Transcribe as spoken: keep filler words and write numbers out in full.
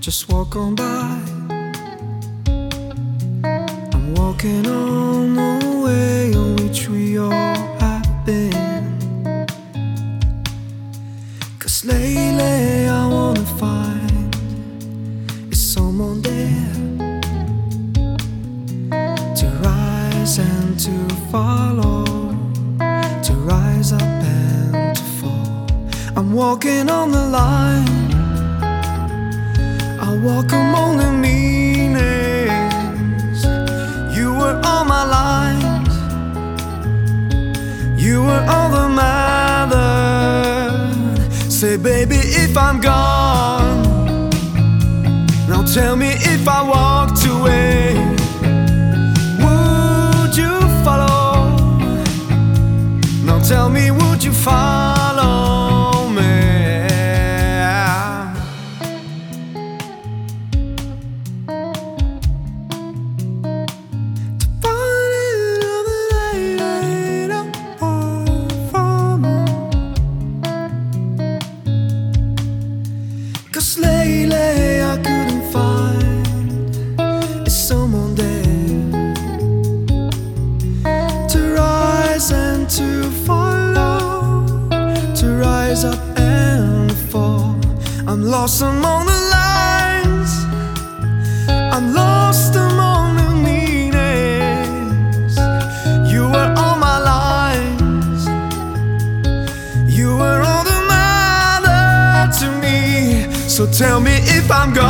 just walk on by. I'm walking on the way on which we all have been. 'Cause lately I wanna find is someone there to rise and to follow, to rise up and to fall. I'm walking on the line, I walk among the meanings. You were all my lines, you were all the matter. Say baby, if I'm gone, now tell me if I walked away, would you follow? Now tell me, would you follow me? Cause lately I couldn't find is someone there to rise and to follow, to rise up and fall. I'm lost among the lines, I'm lost among the meanings. You were all my lines, you were all the matter to me. So tell me if I'm gone,